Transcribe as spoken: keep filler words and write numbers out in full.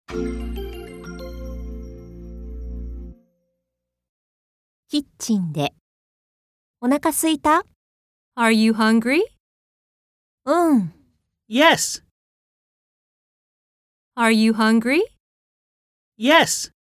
キッチンで。お腹すいた？ Are you hungry? うん。 Yes. Are you hungry? Yes.